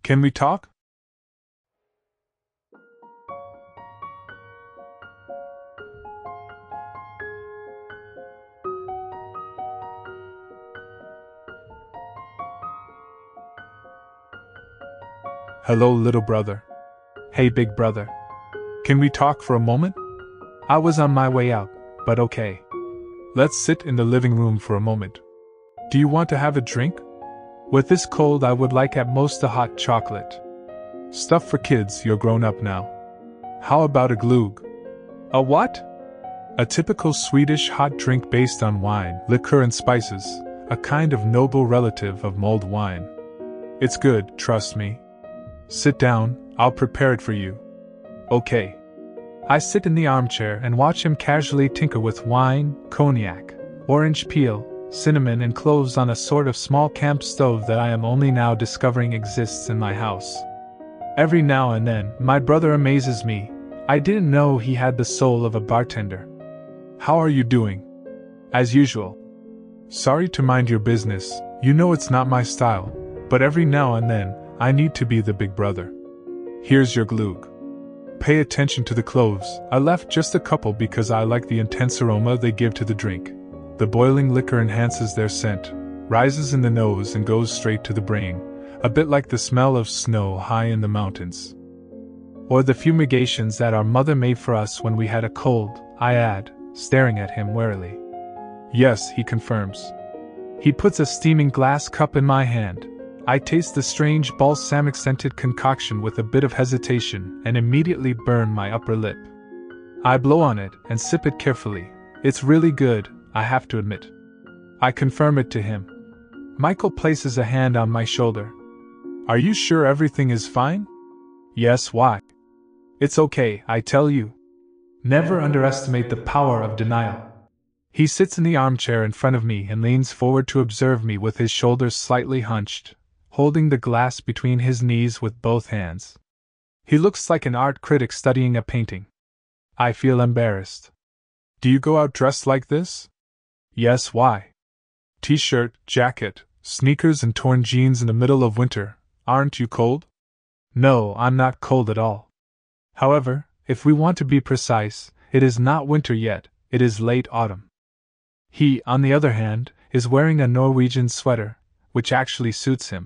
Can we talk? Hello, little brother. Hey, big brother. Can we talk for a moment? I was on my way out, but okay. Let's sit in the living room for a moment. Do you want to have a drink? With this cold, I would like at most a hot chocolate. Stuff for kids, you're grown up now. How about a glögg? A what? A typical Swedish hot drink based on wine, liquor, and spices, a kind of noble relative of mulled wine. It's good, trust me. Sit down, I'll prepare it for you. Okay. I sit in the armchair and watch him casually tinker with wine, cognac, orange peel, cinnamon, and cloves on a sort of small camp stove that I am only now discovering exists in my house. Every now and then, my brother amazes me. I didn't know he had the soul of a bartender. How are you doing? As usual. Sorry to mind your business, you know it's not my style, but every now and then, I need to be the big brother. Here's your glögg. Pay attention to the cloves. I left just a couple because I like the intense aroma they give to the drink. The boiling liquor enhances their scent, rises in the nose and goes straight to the brain, a bit like the smell of snow high in the mountains. Or the fumigations that our mother made for us when we had a cold, I add, staring at him warily. Yes, he confirms. He puts a steaming glass cup in my hand. I taste the strange balsamic-scented concoction with a bit of hesitation and immediately burn my upper lip. I blow on it and sip it carefully. It's really good, I have to admit. I confirm it to him. Michael places a hand on my shoulder. Are you sure everything is fine? Yes, why? It's okay, I tell you. Never underestimate the power of denial. He sits in the armchair in front of me and leans forward to observe me with his shoulders slightly hunched, holding the glass between his knees with both hands. He looks like an art critic studying a painting. I feel embarrassed. Do you go out dressed like this? Yes, why? T-shirt, jacket, sneakers and torn jeans in the middle of winter. Aren't you cold? No, I'm not cold at all. However, if we want to be precise, it is not winter yet, it is late autumn. He, on the other hand, is wearing a Norwegian sweater, which actually suits him.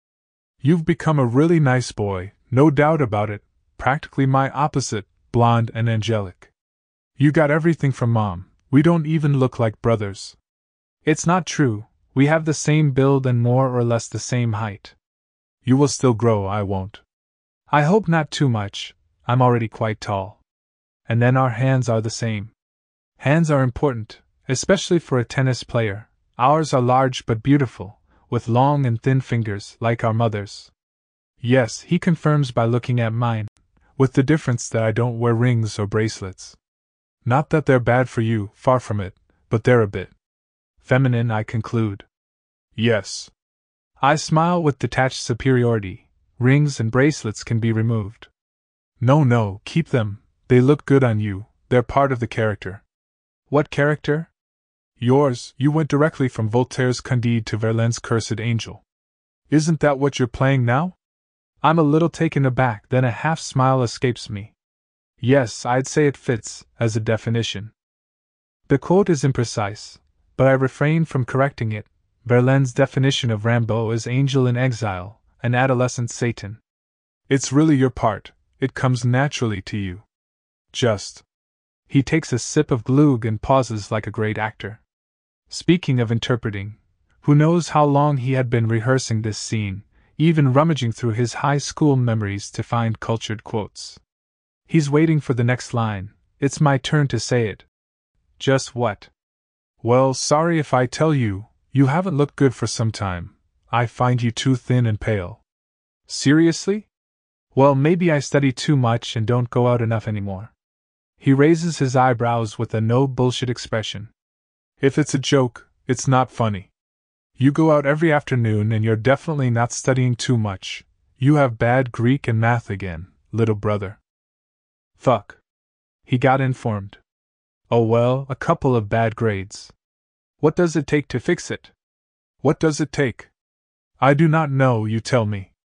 You've become a really nice boy, no doubt about it, practically my opposite, blonde and angelic. You got everything from Mom, we don't even look like brothers. It's not true, we have the same build and more or less the same height. You will still grow, I won't. I hope not too much, I'm already quite tall. And then our hands are the same. Hands are important, especially for a tennis player. Ours are large but beautiful, with long and thin fingers, like our mother's. Yes, he confirms by looking at mine, with the difference that I don't wear rings or bracelets. Not that they're bad for you, far from it, but they're a bit feminine, I conclude. Yes. I smile with detached superiority. Rings and bracelets can be removed. No, keep them, they look good on you, they're part of the character. What character? Yours, you went directly from Voltaire's Candide to Verlaine's Cursed Angel. Isn't that what you're playing now? I'm a little taken aback, then a half-smile escapes me. Yes, I'd say it fits, as a definition. The quote is imprecise, but I refrain from correcting it. Verlaine's definition of Rimbaud is angel in exile, an adolescent Satan. It's really your part, it comes naturally to you. Just. He takes a sip of glögg and pauses like a great actor. Speaking of interpreting, who knows how long he had been rehearsing this scene, even rummaging through his high school memories to find cultured quotes. He's waiting for the next line. It's my turn to say it. Just what? Well, sorry if I tell you, you haven't looked good for some time. I find you too thin and pale. Seriously? Well, maybe I study too much and don't go out enough anymore. He raises his eyebrows with a no bullshit expression. If it's a joke, it's not funny. You go out every afternoon and you're definitely not studying too much. You have bad Greek and math again, little brother. Fuck. He got informed. Oh well, a couple of bad grades. What does it take to fix it? What does it take? I do not know, you tell me.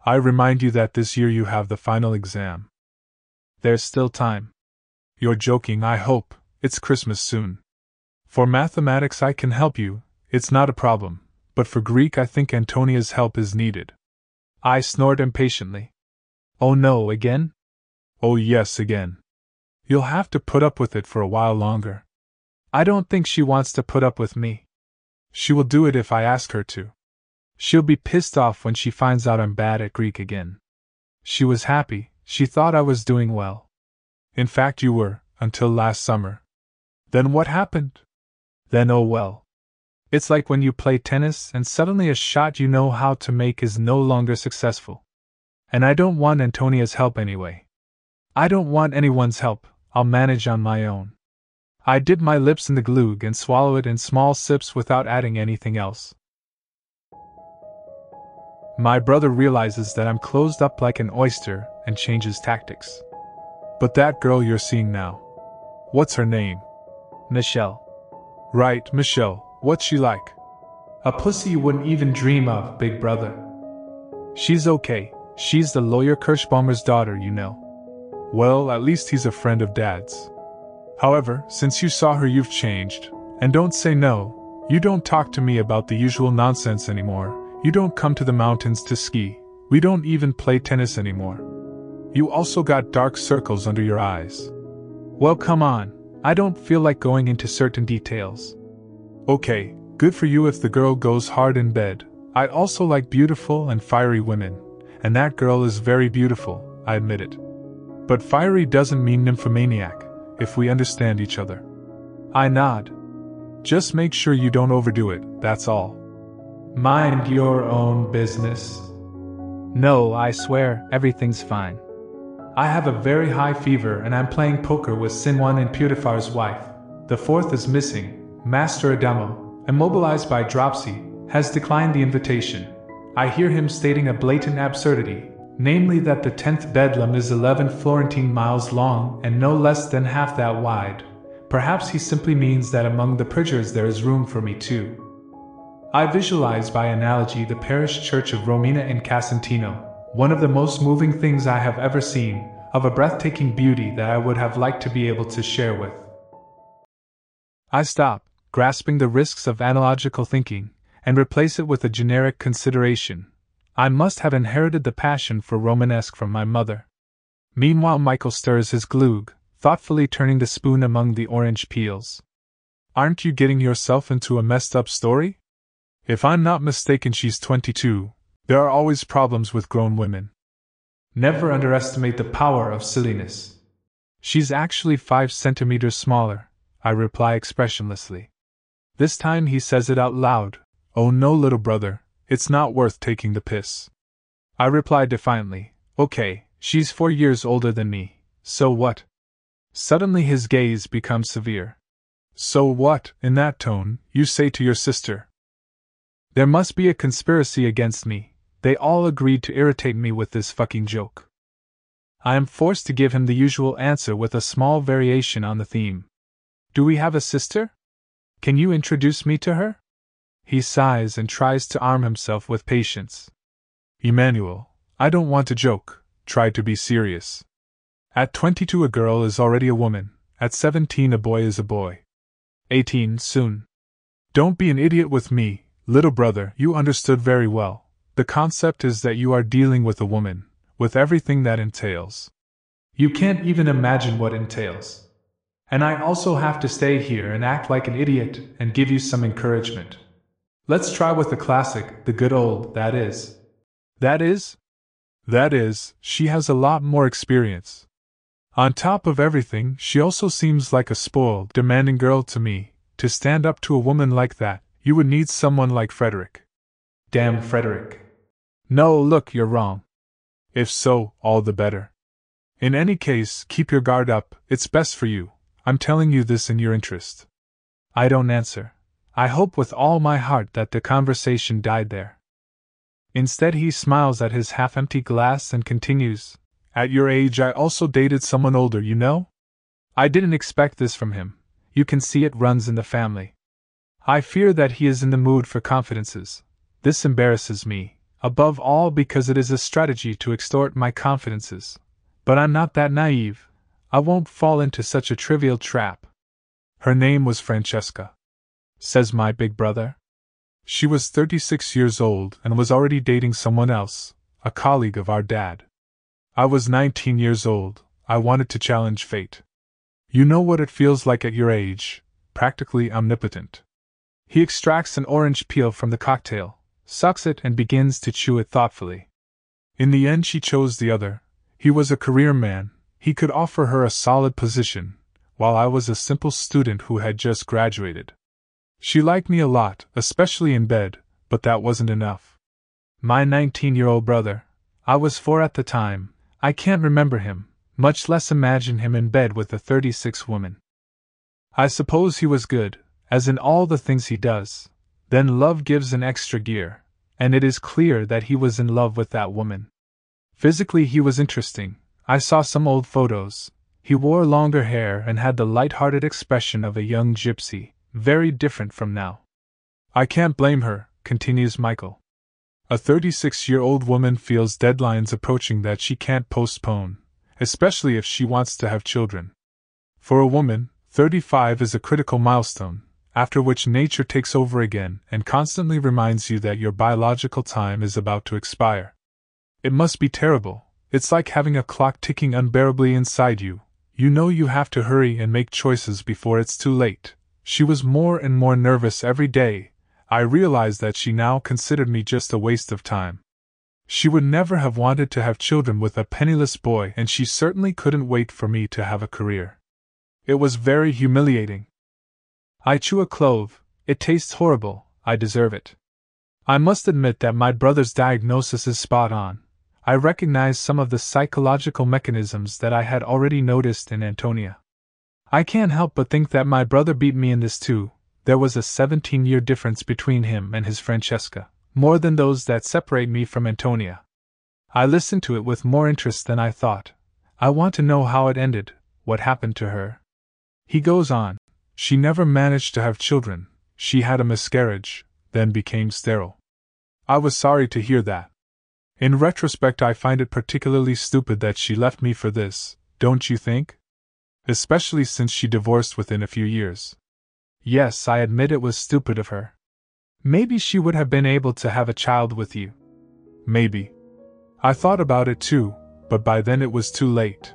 I remind you that this year you have the final exam. There's still time. You're joking, I hope. It's Christmas soon. For mathematics I can help you, it's not a problem, but for Greek I think Antonia's help is needed. I snored impatiently. Oh no, again? Oh yes, again. You'll have to put up with it for a while longer. I don't think she wants to put up with me. She will do it if I ask her to. She'll be pissed off when she finds out I'm bad at Greek again. She was happy, she thought I was doing well. In fact, you were, until last summer. Then what happened? Then oh well. It's like when you play tennis and suddenly a shot you know how to make is no longer successful. And I don't want Antonia's help anyway. I don't want anyone's help, I'll manage on my own. I dip my lips in the glug and swallow it in small sips without adding anything else. My brother realizes that I'm closed up like an oyster and changes tactics. But that girl you're seeing now. What's her name? Michelle. Right, Michelle. What's she like? A pussy you wouldn't even dream of, big brother. She's okay. She's the lawyer Kirschbaumer's daughter, you know. Well, at least he's a friend of Dad's. However, since you saw her you've changed, and don't say no, you don't talk to me about the usual nonsense anymore, you don't come to the mountains to ski, we don't even play tennis anymore. You also got dark circles under your eyes. Well, come on, I don't feel like going into certain details. Okay, good for you if the girl goes hard in bed. I also like beautiful and fiery women, and that girl is very beautiful, I admit it. But fiery doesn't mean nymphomaniac, if we understand each other. I nod. Just make sure you don't overdo it, that's all. Mind your own business. No, I swear, everything's fine. I have a very high fever and I'm playing poker with Sinwan and Putifar's wife. The fourth is missing, Master Adamo, immobilized by dropsy, has declined the invitation. I hear him stating a blatant absurdity, namely that the 10th bedlam is 11 Florentine miles long and no less than half that wide. Perhaps he simply means that among the pridgers there is room for me too. I visualize by analogy the parish church of Romina in Casentino, one of the most moving things I have ever seen, of a breathtaking beauty that I would have liked to be able to share with. I stop, grasping the risks of analogical thinking, and replace it with a generic consideration. I must have inherited the passion for Romanesque from my mother. Meanwhile, Michael stirs his glug, thoughtfully turning the spoon among the orange peels. Aren't you getting yourself into a messed up story? If I'm not mistaken, she's 22. There are always problems with grown women. Never underestimate the power of silliness. She's actually 5 centimeters smaller, I reply expressionlessly. This time he says it out loud. Oh no, little brother, it's not worth taking the piss. I reply defiantly. Okay, she's 4 years older than me, so what? Suddenly his gaze becomes severe. So what, in that tone, you say to your sister? There must be a conspiracy against me. They all agreed to irritate me with this fucking joke. I am forced to give him the usual answer with a small variation on the theme. Do we have a sister? Can you introduce me to her? He sighs and tries to arm himself with patience. Emmanuel, I don't want to joke, try to be serious. At 22 a girl is already a woman, at 17 a boy is a boy. 18 soon. Don't be an idiot with me, little brother, you understood very well. The concept is that you are dealing with a woman, with everything that entails. You can't even imagine what entails. And I also have to stay here and act like an idiot and give you some encouragement. Let's try with the classic, the good old, that is. That is? That is, she has a lot more experience. On top of everything, she also seems like a spoiled, demanding girl to me. To stand up to a woman like that, you would need someone like Frederick. Damn Frederick. No, look, you're wrong. If so, all the better. In any case, keep your guard up, it's best for you. I'm telling you this in your interest. I don't answer. I hope with all my heart that the conversation died there. Instead, he smiles at his half-empty glass and continues, At your age I also dated someone older, you know? I didn't expect this from him. You can see it runs in the family. I fear that he is in the mood for confidences. This embarrasses me. above all because it is a strategy to extort my confidences. But I'm not that naive. I won't fall into such a trivial trap. Her name was Francesca, says my big brother. She was 36 years old and was already dating someone else, a colleague of our dad. I was 19 years old. I wanted to challenge fate. You know what it feels like at your age, practically omnipotent. He extracts an orange peel from the cocktail, sucks it and begins to chew it thoughtfully. In the end she chose the other. He was a career man. He could offer her a solid position, while I was a simple student who had just graduated. She liked me a lot, especially in bed, but that wasn't enough. My 19-year-old brother, I was 4 at the time, I can't remember him, much less imagine him in bed with a 36 woman. I suppose he was good, as in all the things he does. Then love gives an extra gear, and it is clear that he was in love with that woman. Physically he was interesting. I saw some old photos. He wore longer hair and had the light-hearted expression of a young gypsy, very different from now. I can't blame her, continues Michael. A 36-year-old woman feels deadlines approaching that she can't postpone, especially if she wants to have children. For a woman, 35 is a critical milestone, after which nature takes over again and constantly reminds you that your biological time is about to expire. It must be terrible. It's like having a clock ticking unbearably inside you. You know you have to hurry and make choices before it's too late. She was more and more nervous every day. I realized that she now considered me just a waste of time. She would never have wanted to have children with a penniless boy, and she certainly couldn't wait for me to have a career. It was very humiliating. I chew a clove. It tastes horrible. I deserve it. I must admit that my brother's diagnosis is spot on. I recognize some of the psychological mechanisms that I had already noticed in Antonia. I can't help but think that my brother beat me in this too. There was a 17-year difference between him and his Francesca, more than those that separate me from Antonia. I listened to it with more interest than I thought. I want to know how it ended, what happened to her. He goes on. She never managed to have children. She had a miscarriage, then became sterile. I was sorry to hear that. In retrospect, I find it particularly stupid that she left me for this, don't you think? Especially since she divorced within a few years. Yes, I admit it was stupid of her. Maybe she would have been able to have a child with you. Maybe. I thought about it too, but by then it was too late.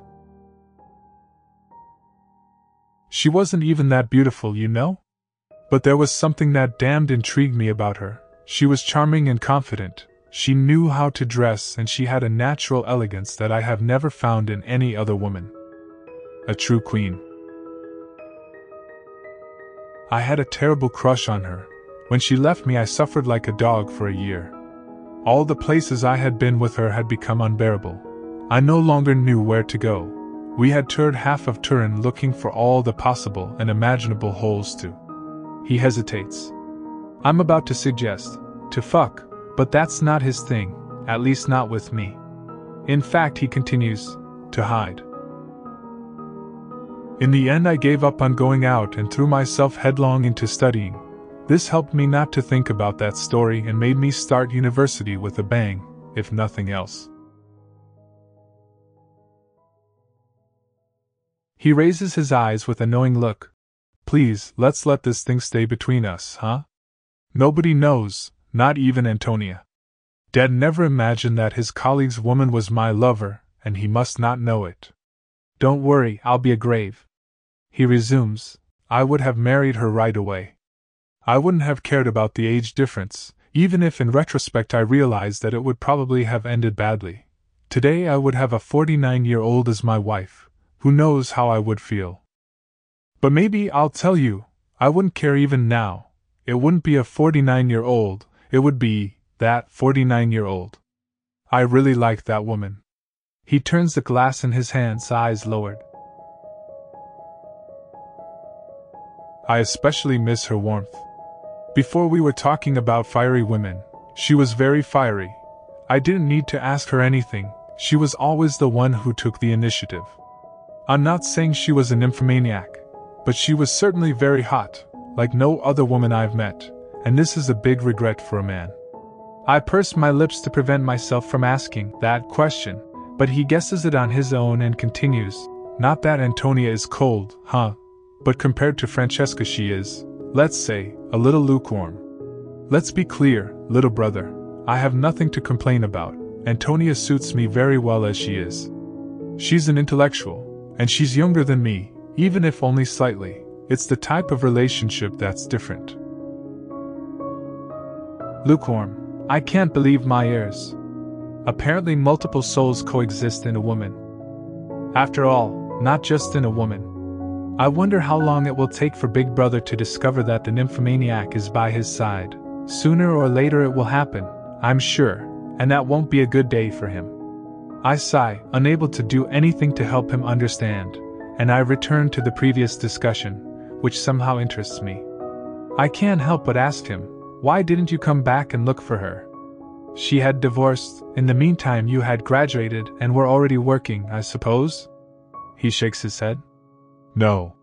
She wasn't even that beautiful, you know? But there was something that damned intrigued me about her. She was charming and confident. She knew how to dress, and she had a natural elegance that I have never found in any other woman. A true queen. I had a terrible crush on her. When she left me, I suffered like a dog for a year. All the places I had been with her had become unbearable. I no longer knew where to go. We had toured half of Turin looking for all the possible and imaginable holes to. He hesitates. I'm about to suggest, to fuck. But that's not his thing, at least not with me. In fact, he continues, to hide. In the end, I gave up on going out and threw myself headlong into studying. This helped me not to think about that story and made me start university with a bang, if nothing else. He raises his eyes with a knowing look. Please, let's let this thing stay between us, huh? Nobody knows. Not even Antonia. Dad never imagined that his colleague's woman was my lover, and he must not know it. Don't worry, I'll be a grave. He resumes, I would have married her right away. I wouldn't have cared about the age difference, even if in retrospect I realized that it would probably have ended badly. Today I would have a 49-year-old as my wife. Who knows how I would feel? But maybe I'll tell you, I wouldn't care even now. It wouldn't be a 49-year-old. It would be that 49-year-old. I really like that woman. He turns the glass in his hands, eyes lowered. I especially miss her warmth. Before we were talking about fiery women. She was very fiery. I didn't need to ask her anything. She was always the one who took the initiative. I'm not saying she was a nymphomaniac, but she was certainly very hot, like no other woman I've met. And this is a big regret for a man. I purse my lips to prevent myself from asking that question, but he guesses it on his own and continues. Not that Antonia is cold, huh? But compared to Francesca she is, let's say, a little lukewarm. Let's be clear, little brother. I have nothing to complain about. Antonia suits me very well as she is. She's an intellectual, and she's younger than me, even if only slightly. It's the type of relationship that's different. Lukewarm. I can't believe my ears. Apparently multiple souls coexist in a woman. After all, not just in a woman. I wonder how long it will take for Big Brother to discover that the nymphomaniac is by his side. Sooner or later it will happen, I'm sure, and that won't be a good day for him. I sigh, unable to do anything to help him understand, and I return to the previous discussion, which somehow interests me. I can't help but ask him, why didn't you come back and look for her? She had divorced. In the meantime you had graduated and were already working, I suppose? He shakes his head. No.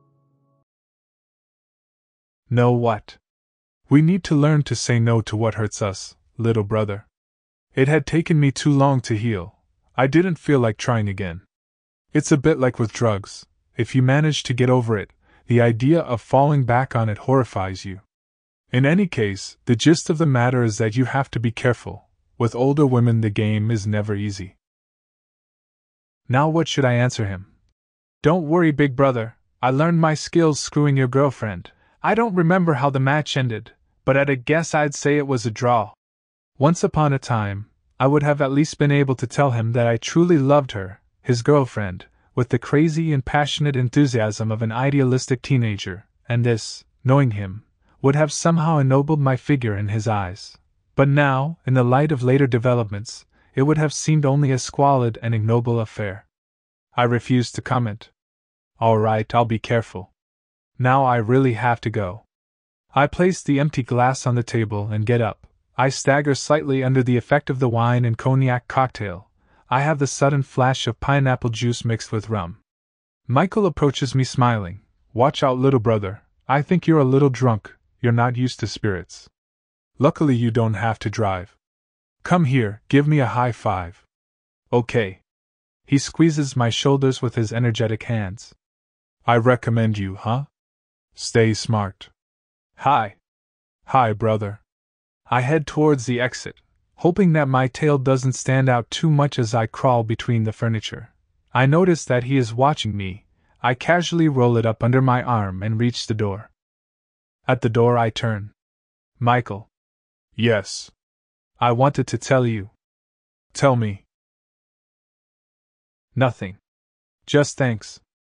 No what? We need to learn to say no to what hurts us, little brother. It had taken me too long to heal. I didn't feel like trying again. It's a bit like with drugs. If you manage to get over it, the idea of falling back on it horrifies you. In any case, the gist of the matter is that you have to be careful. With older women the game is never easy. Now what should I answer him? Don't worry, big brother, I learned my skills screwing your girlfriend. I don't remember how the match ended, but at a guess I'd say it was a draw. Once upon a time, I would have at least been able to tell him that I truly loved her, his girlfriend, with the crazy and passionate enthusiasm of an idealistic teenager, and this, knowing him, would have somehow ennobled my figure in his eyes. But now, in the light of later developments, it would have seemed only a squalid and ignoble affair. I refused to comment. All right, I'll be careful. Now I really have to go. I place the empty glass on the table and get up. I stagger slightly under the effect of the wine and cognac cocktail. I have the sudden flash of pineapple juice mixed with rum. Michael approaches me smiling. Watch out, little brother. I think you're a little drunk. You're not used to spirits. Luckily you don't have to drive. Come here, give me a high five. Okay. He squeezes my shoulders with his energetic hands. I recommend you, huh? Stay smart. Hi. Hi, brother. I head towards the exit, hoping that my tail doesn't stand out too much as I crawl between the furniture. I notice that he is watching me. I casually roll it up under my arm and reach the door. At the door I turn. Michael. Yes. I wanted to tell you. Tell me. Nothing. Just thanks.